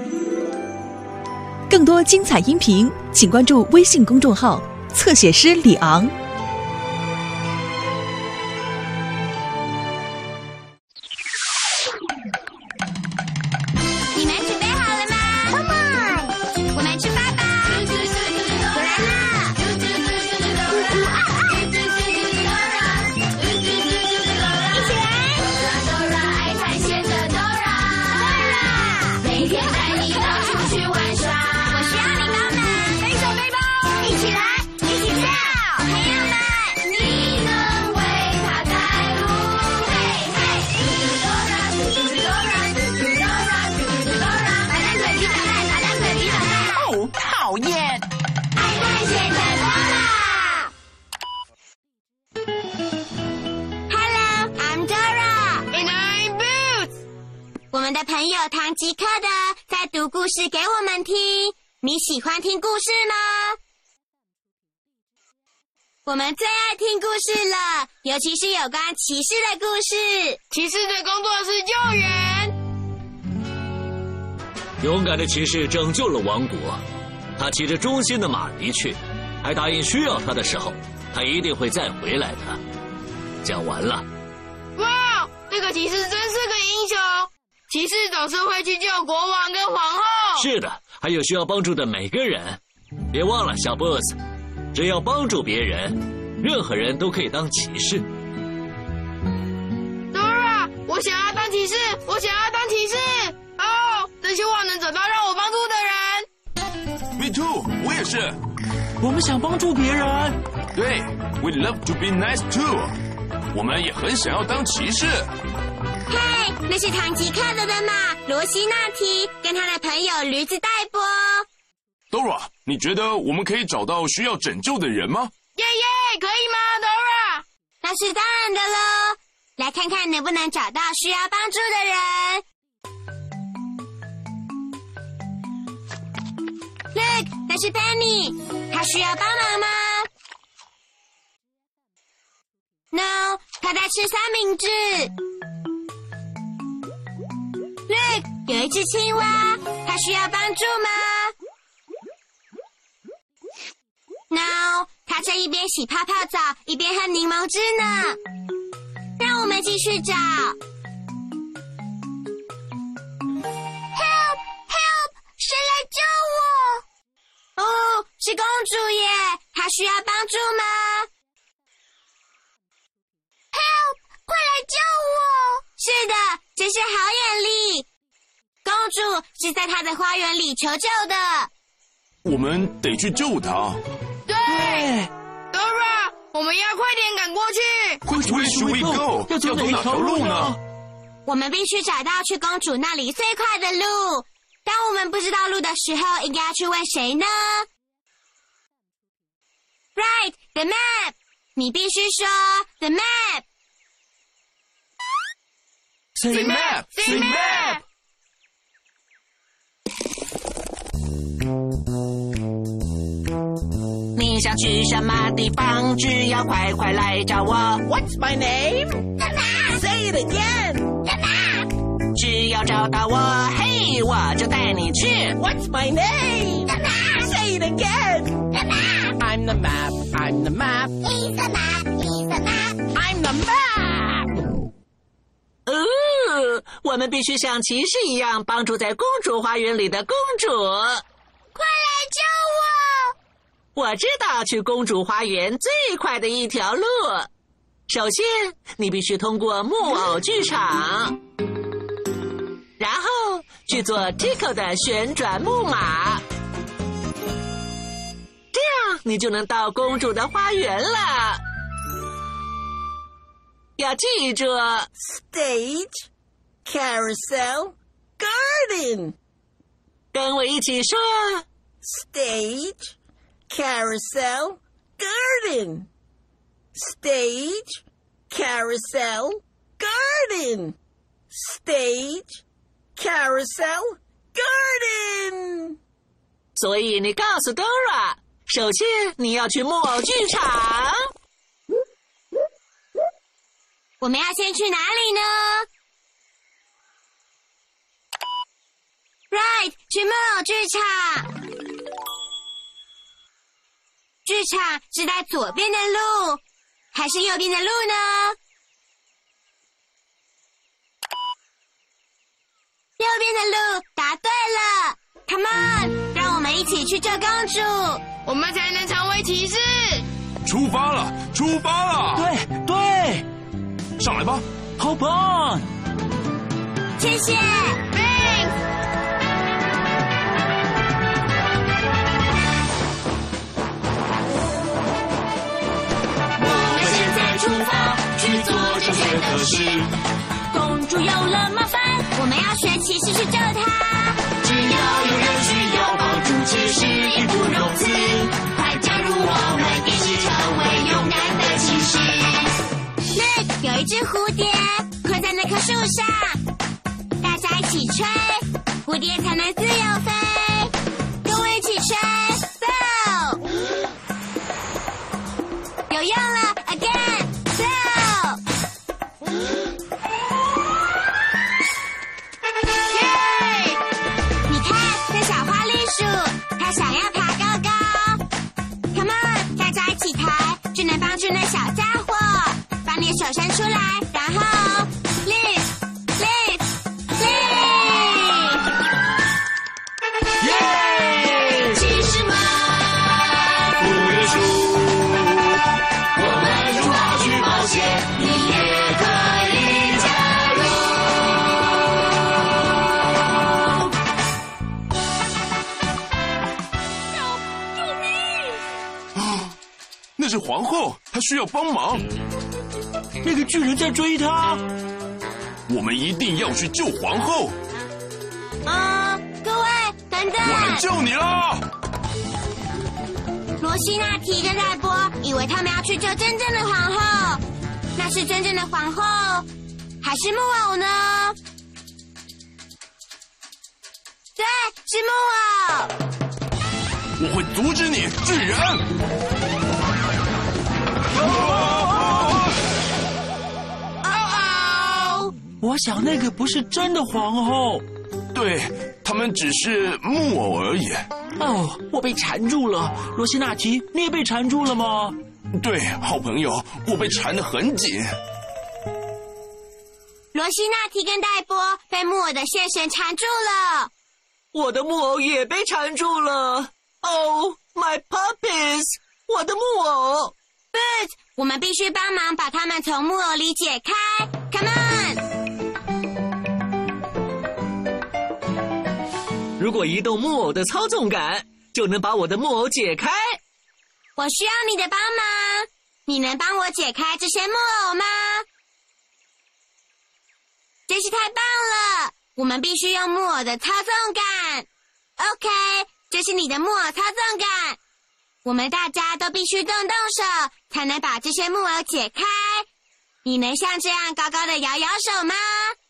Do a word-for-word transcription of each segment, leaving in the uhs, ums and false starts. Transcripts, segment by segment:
更多精彩音频，请关注微信公众号“侧写师李昂”。 你们准备好了吗 ？Come on， 我们出发吧！我来了！呜呜啊啊！一起来！爱探险的 Dora， 每天带你到处去玩耍。我需要你帮忙，背手背包，一起来，一起跳！朋友们，你能为他带路？嘿嘿，嘟嘟 Dora， 嘟嘟 Dora， 嘟嘟 Dora， 把两腿踢打开，把两腿踢打开。 哦，讨厌！ 爱探险的 Dora。Hello，I'm Dora。And I'm Boots。我们的朋友唐吉诃德在读故事给我们听。你喜欢听故事吗？我们最爱听故事了，尤其是有关骑士的故事。骑士的工作是救援。 勇敢的骑士拯救了王国，他骑着忠心的马离去，还答应需要他的时候，他一定会再回来的。讲完了。 哇，这个骑士真是个英雄！骑士总是会去救国王跟皇后。 是的，还有需要帮助的每个人。别忘了，小 boss， 只要帮助别人，任何人都可以当骑士。 Dora， 我想要当骑士，我想要当骑士。哦，真希望能找到让我帮助的人。 Me too， 我也是。 我们想帮助别人。 对 ，We love to be nice too。我们也很想要当骑士。 嘿，那是唐吉诃德的马罗西纳提跟他的朋友驴子戴波。 Dora， 你觉得我们可以找到需要拯救的人吗？ 耶耶，可以吗 ，Dora？ 那是当然的喽。来看看能不能找到需要帮助的人。Look， 那是 Penny， 她需要帮忙吗 ？No， 她在吃三明治。Look， 有一只青蛙，它需要帮助吗 ？No， 它正一边洗泡泡澡，一边喝柠檬汁呢。让我们继续找。Help! Help! 谁来救我？哦，是公主耶，她需要帮助吗 ？Help! 快来救我！是的，真是好眼力。公主是在她的花园里求救的。 我们得去救她。 对 ，Dora， 我们要快点赶过去。 Which way should we go？ 要走哪条路呢？ 我们必须找到去公主那里最快的路。当我们不知道路的时候，应该要去问谁呢 ？Right, the map。你必须说 the map。 Say map, say map。 你想去什么地方？只要快快来找我。What's my name? The map. Say it again. The map. 只要找到我，嘿，我就带你去。What's my name? The map. Say it again. The map. I'm the map. I'm the map. He's the map. He's the map. I'm the map. 哦，我们必须像骑士一样帮助在公主花园里的公主。 快来救我！ 我知道去公主花园最快的一条路。首先，你必须通过木偶剧场，然后去做 Tico 的旋转木马，这样你就能到公主的花园了。要记住 Stage, carousel, garden. 跟我一起说 Stage, carousel, garden. Stage, carousel, garden. Stage, carousel, garden. 所以你告诉 Dora， 首先你要去木偶剧场。 我们要先去哪里呢 ？Right， 去木偶剧场。剧场是在左边的路，还是右边的路呢？右边的路，答对了。Come on， 让我们一起去救公主， 我们才能成为骑士。 出发了，出发了！ 对对， 上来吧， 好棒！ 谢谢。 我们现在出发，去做正确的事。 公主有了麻烦，我们要学骑士去救她。 只要有人需要帮助，骑士义不容辞。快加入我们，一起成为勇敢的骑士。 Look， 有一只蝴蝶困在那棵树上，大家一起吹，蝴蝶才能自由飞。跟我一起吹 ，Blow！ 有用了 ，Again，Blow！ 耶！ 你看，那小花栗鼠，它想要爬高高。Come on， 大家一起抬，就能帮助那小家伙。把你的手伸出来，然后 lift lift lift， 耶！ 骑士们，不约束，我们出发去冒险，你也可以加入。 救命！ 啊，那是皇后，她需要帮忙。 那个巨人在追他， 我们一定要去救皇后。 嗯，各位，等等！ 我来救你啦！ 罗西娜提跟戴波以为他们要去救真正的皇后，那是真正的皇后，还是木偶呢？对，是木偶。 我会阻止你，巨人！ 我想那个不是真的皇后。 对，他们只是木偶而已。 哦，我被缠住了。罗西纳提，你也被缠住了吗？ 对，好朋友，我被缠得很紧。 罗西娜提跟戴波被木偶的线绳缠住了。 我的木偶也被缠住了。Oh, my puppies！ 我的木偶。 Boots， 我们必须帮忙把他们从木偶里解开。Come on！ 如果移动木偶的操纵杆，就能把我的木偶解开。 我需要你的帮忙，你能帮我解开这些木偶吗？真是太棒了！我们必须用木偶的操纵杆。OK， 这是你的木偶操纵杆。我们大家都必须动动手，才能把这些木偶解开。你能像这样高高的摇摇手吗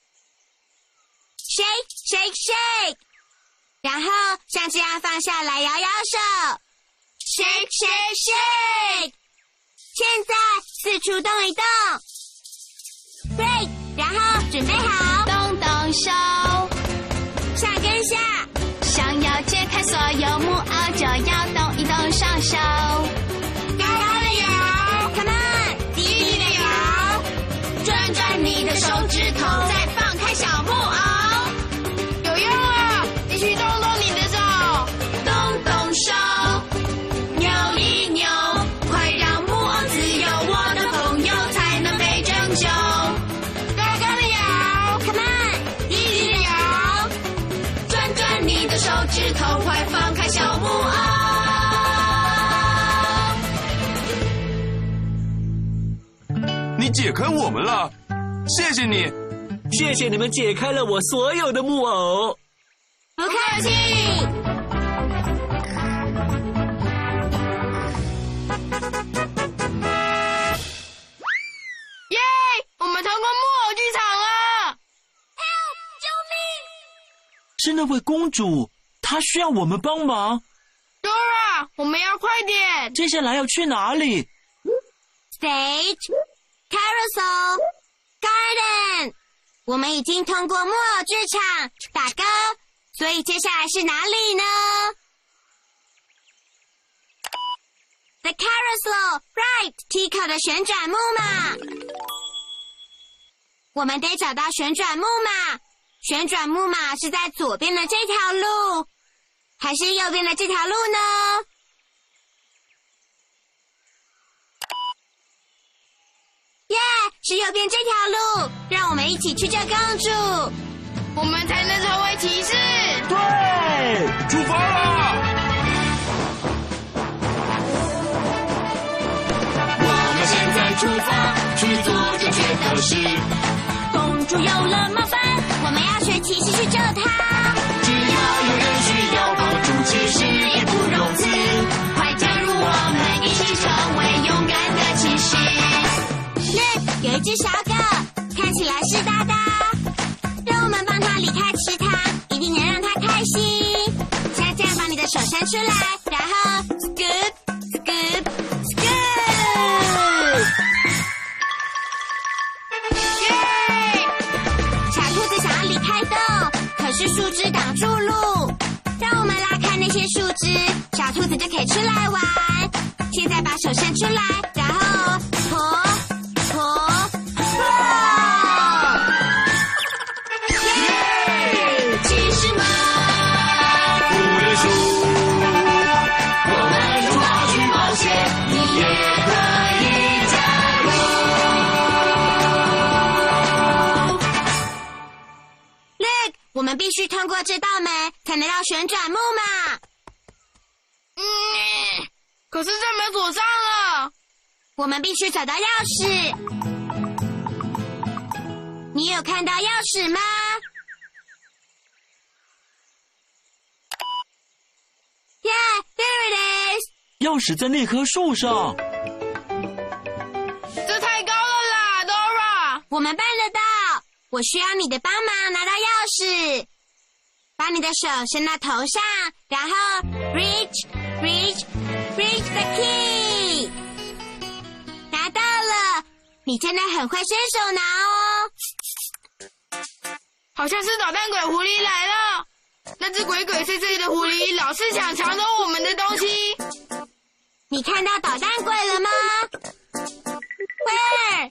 ？Shake, shake, shake。然后像这样放下来摇摇手 ，shake shake shake。现在四处动一动 ，break， 然后准备好， 动动手， 上跟下。 想要解开所有木偶，就要动一动双手。 高高的摇 ，come on， 低低的摇， 转转你的手指头，再放开小木偶。 有用啊！继续动动你的手， 动动手，扭一扭，快让木偶自由，我的朋友才能被拯救。 高高的摇 ，come on， 低低的摇， 转转你的手指头，快放开小木偶。 你解开我们了，谢谢你。 谢谢你们解开了我所有的木偶。 不客气。 耶！我们通过木偶剧场了。 Help！ 救命！ 是那位公主，她需要我们帮忙。 Dora， 我们要快点。 接下来要去哪里 Stage, carousel, garden。我们已经通过木偶剧场、打勾、 所以接下来是哪里呢？ The carousel, right, Tico 的旋转木马。我们得找到旋转木马。旋转木马是在左边的这条路，还是右边的这条路呢？耶， yeah, 是右边这条路，让我们一起去救公主， 我们才能成为骑士。 对，出发啦！ 我们现在出发，去做正确的事。 公主有了麻烦，我们要学骑士去救她。 只要有人需要帮助，骑士义不容辞。快加入我们，一起成为勇敢的骑士。 Look， 有一只小狗，看起来湿哒哒，让我们帮它离开池塘，一定能让它开心。现在这样把你的手伸出来，然后 scoop scoop scoop。 耶！ 小兔子想要离开洞，可是树枝挡住路，让我们拉开那些树枝，小兔子就可以出来玩。现在把手伸出来，然后婆。我们必须通过这道门，才能到旋转木马。 嗯，可是这门锁上了。 我们必须找到钥匙。你有看到钥匙吗？耶、yeah, ，there it is！ 钥匙在那棵树上。 这太高了啦 ，Dora！ 我们办得到。我需要你的帮忙拿到钥匙，把你的手伸到头上，然后 reach reach reach the key， 拿到了，你真的很会伸手拿哦。 好像是捣蛋鬼狐狸来了，那只鬼鬼祟祟的狐狸老是想抢走我们的东西。 你看到捣蛋鬼了吗 ？Where？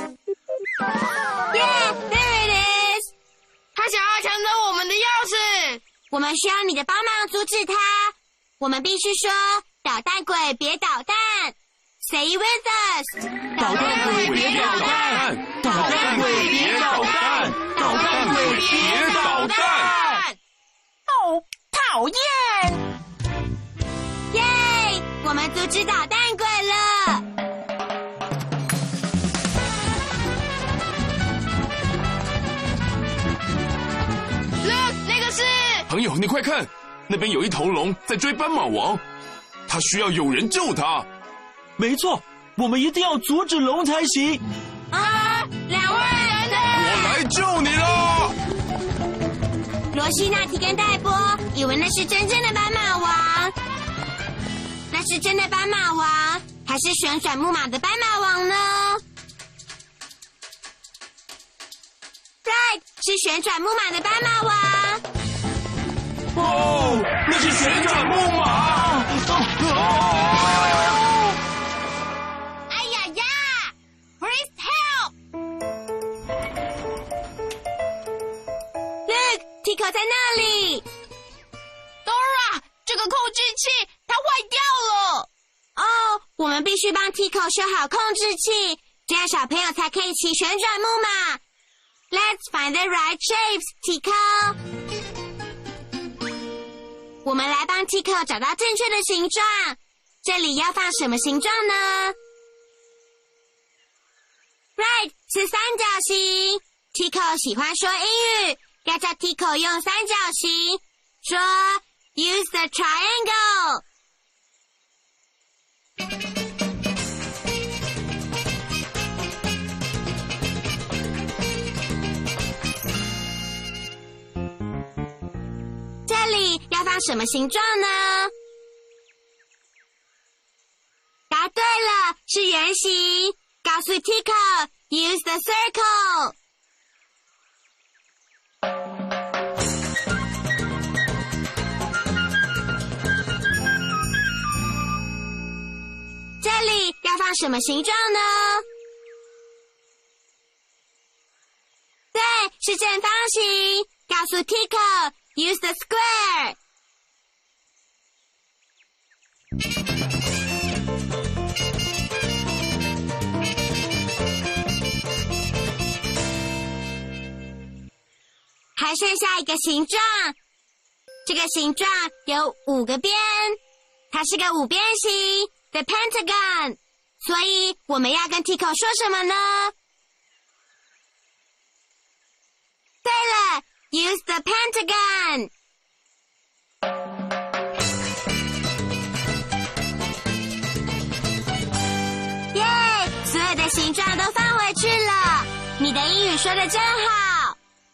Yeah, there it is！ 他想要抢走我们的钥匙， 我们需要你的帮忙阻止他。我们必须说：“捣蛋鬼别捣蛋 ！”Say with us！ 捣蛋鬼别捣蛋！捣蛋鬼别捣蛋！捣蛋鬼别捣蛋！ 哦，讨厌！ 耶！我们阻止捣蛋鬼了。 朋友，你快看，那边有一头龙在追斑马王，他需要有人救他。 没错，我们一定要阻止龙才行。 啊，两位人呢？ 我来救你了。 罗西纳提跟戴波以为那是真正的斑马王，那是真的斑马王，还是旋转木马的斑马王呢 ？Right， 是旋转木马的斑马王。 哦，那是旋转木马！ 哎呀呀 ！Please help! Look, Tico 在那里。 Dora， 这个控制器它坏掉了。 哦，我们必须帮 Tico 修好控制器，这样小朋友才可以骑旋转木马。Let's find the right shapes, Tico. 我们来帮 Tico 找到正确的形状。这里要放什么形状呢 ？Right， 是三角形。Tico 喜欢说英语，要叫 Tico 用三角形。说 Use the triangle。这里要放什么形状呢？答对了，是圆形。告诉 Tico Use the circle。 像什么形状呢？对，是正方形。告诉 Tico use the square。还剩下一个形状，这个形状有五个边，它是个五边形 ，the pentagon。所以我们要跟 Tico 说什么呢？对了 ，use the pentagon。耶，所有的形状都放回去了。你的英语说的真好。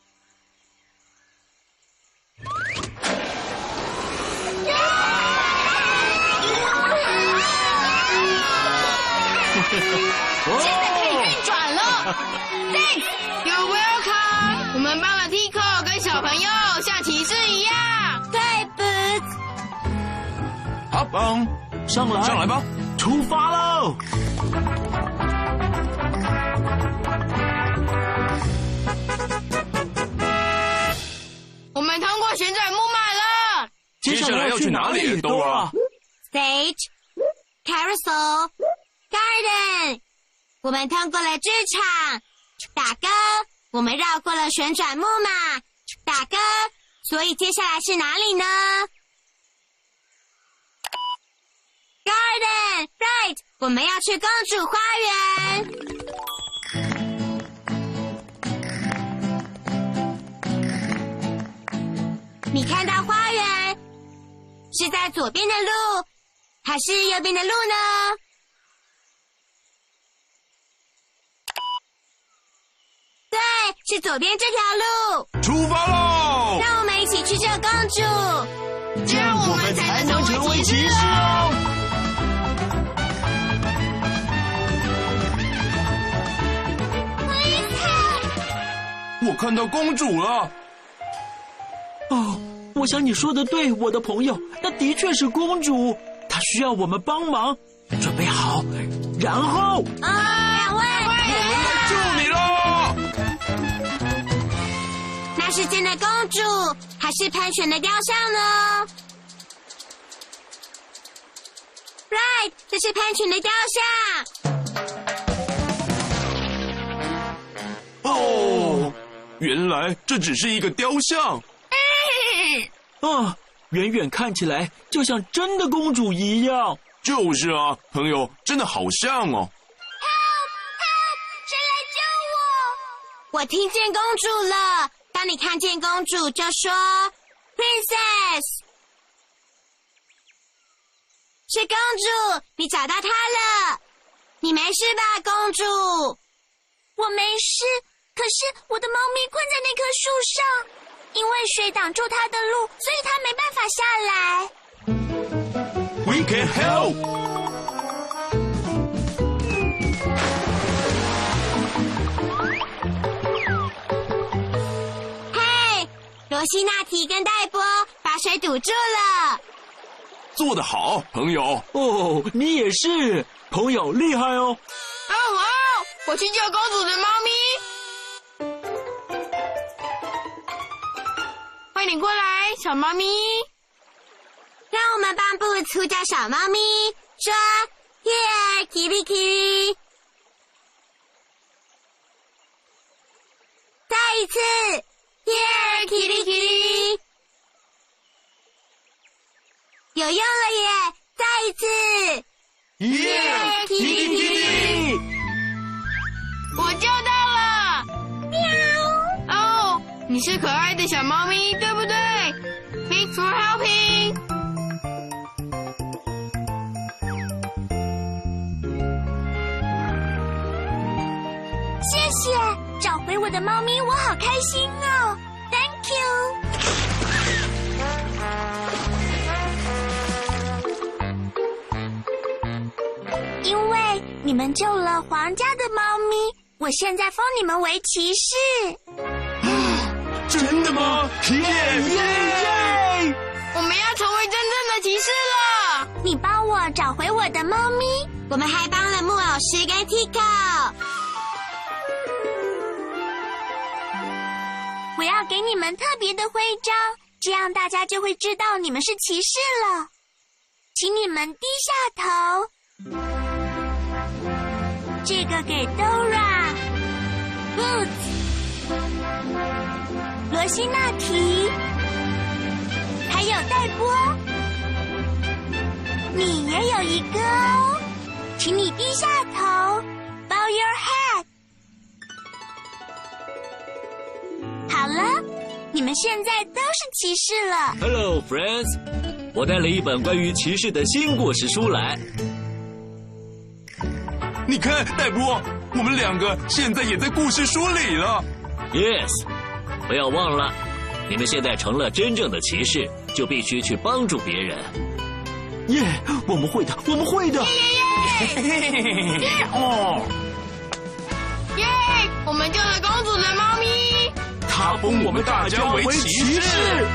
现在可以运转了。Thanks，You're welcome。我们帮了 Tico 跟小朋友像骑士一样。 对 ，Boots。 好，棒， 上来， 上来吧， 出发喽！ 我们通过旋转木马了。 接下来要去哪里 ？Stage、Carousel、Garden。我们通过了剧场，打勾。我们绕过了旋转木马，打勾。所以接下来是哪里呢 ？Garden right， 我们要去公主花园。你看到花园是在左边的路，还是右边的路呢？对，是左边这条路。 出发喽！ 让我们一起去救公主， 这样我们才能成为骑士哦。 我看到公主了。 哦，我想你说的对，我的朋友，那的确是公主，她需要我们帮忙。准备好，然后啊，两位， 我们来救你喽！ 那是真的公主，还是喷泉的雕像呢 ？Right， 这是喷泉的雕像。 哦，原来这只是一个雕像。 啊，远远看起来就像真的公主一样。 就是啊，朋友，真的好像哦。 Help! Help! 谁来救我？我听见公主了。当你看见公主，就说 Princess。是公主，你找到她了。你没事吧，公主？我没事，可是我的猫咪困在那棵树上。因为水挡住它的路，所以它没办法下来。 We can help。 嘿，罗西纳提跟戴波把水堵住了。 做得好，朋友。 哦，你也是，朋友厉害哦。 哦哦，我去救公主的猫咪。快点过来，小猫咪！ 让我们帮布呼叫小猫咪，说 Here, Kitty Kitty。再一次 Here, Kitty Kitty。有用了耶！再一次 Here, Kitty Kitty。 我救到了！喵！哦，你是可爱的小猫咪，对不对 ？Thanks for helping。 谢谢，找回我的猫咪，我好开心哦 ！Thank you。因为你们救了皇家的猫咪，我现在封你们为骑士。 真的吗？耶耶！ 我们要成为真正的骑士了。 你帮我找回我的猫咪， 我们还帮了木偶师跟 Tico。我要给你们特别的徽章，这样大家就会知道你们是骑士了。请你们低下头。这个给 Dora、Boots、罗西纳提，还有黛波。你也有一个哦，请你低下头 ，bow your head。好了，你们现在都是骑士了。 Hello, friends！ 我带了一本关于骑士的新故事书来。 你看，黛波，我们两个现在也在故事书里了。 Yes， 不要忘了，你们现在成了真正的骑士，就必须去帮助别人。 耶、yeah, 我们会的，我们会的。 哦，耶！我们救了公主的猫咪， 他封我们大家为骑士。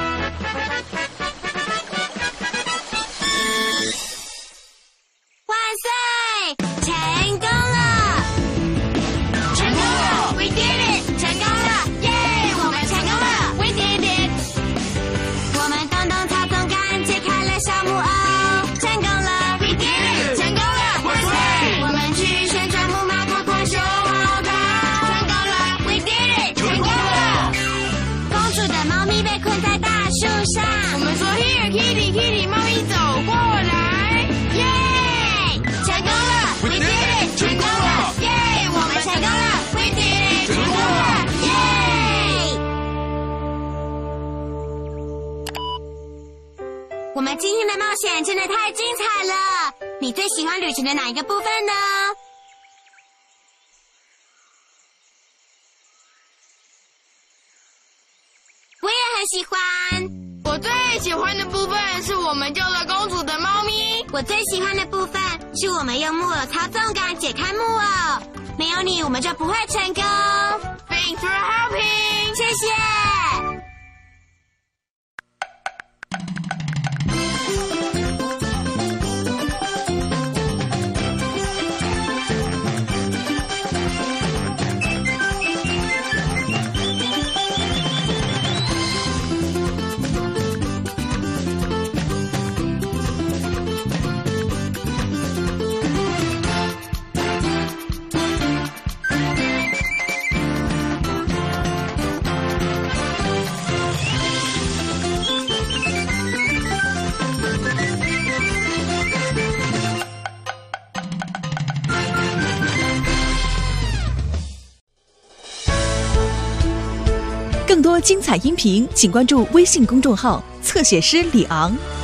万岁！成功了！ 成功了 ！We did it！ 成功了！耶！我们成功了 ！We did it！ 我们动动操纵杆，解开了小木偶，成功了 ！We did it！ 成功了！ 万岁！ 我们去旋转木马，快快修好它，成功了 ！We did it！ 成功了！公主的猫咪被困在大树上， 我们说 Here Kitty Kitty， 猫咪走过来， 耶！成功了 ！We did it！ 成功了！耶！我们成功了 ！We did it！ 成功了！耶！我们今天的冒险真的太精彩了！你最喜欢旅程的哪一个部分呢？我也很喜欢。 我最喜欢的部分是我们救了公主的猫咪。 我最喜欢的部分是我们用木偶操纵杆解开木偶。没有你，我们就不会成功。 Thanks for helping， 谢谢。 更多精彩音频，请关注微信公众号“侧写师李昂”。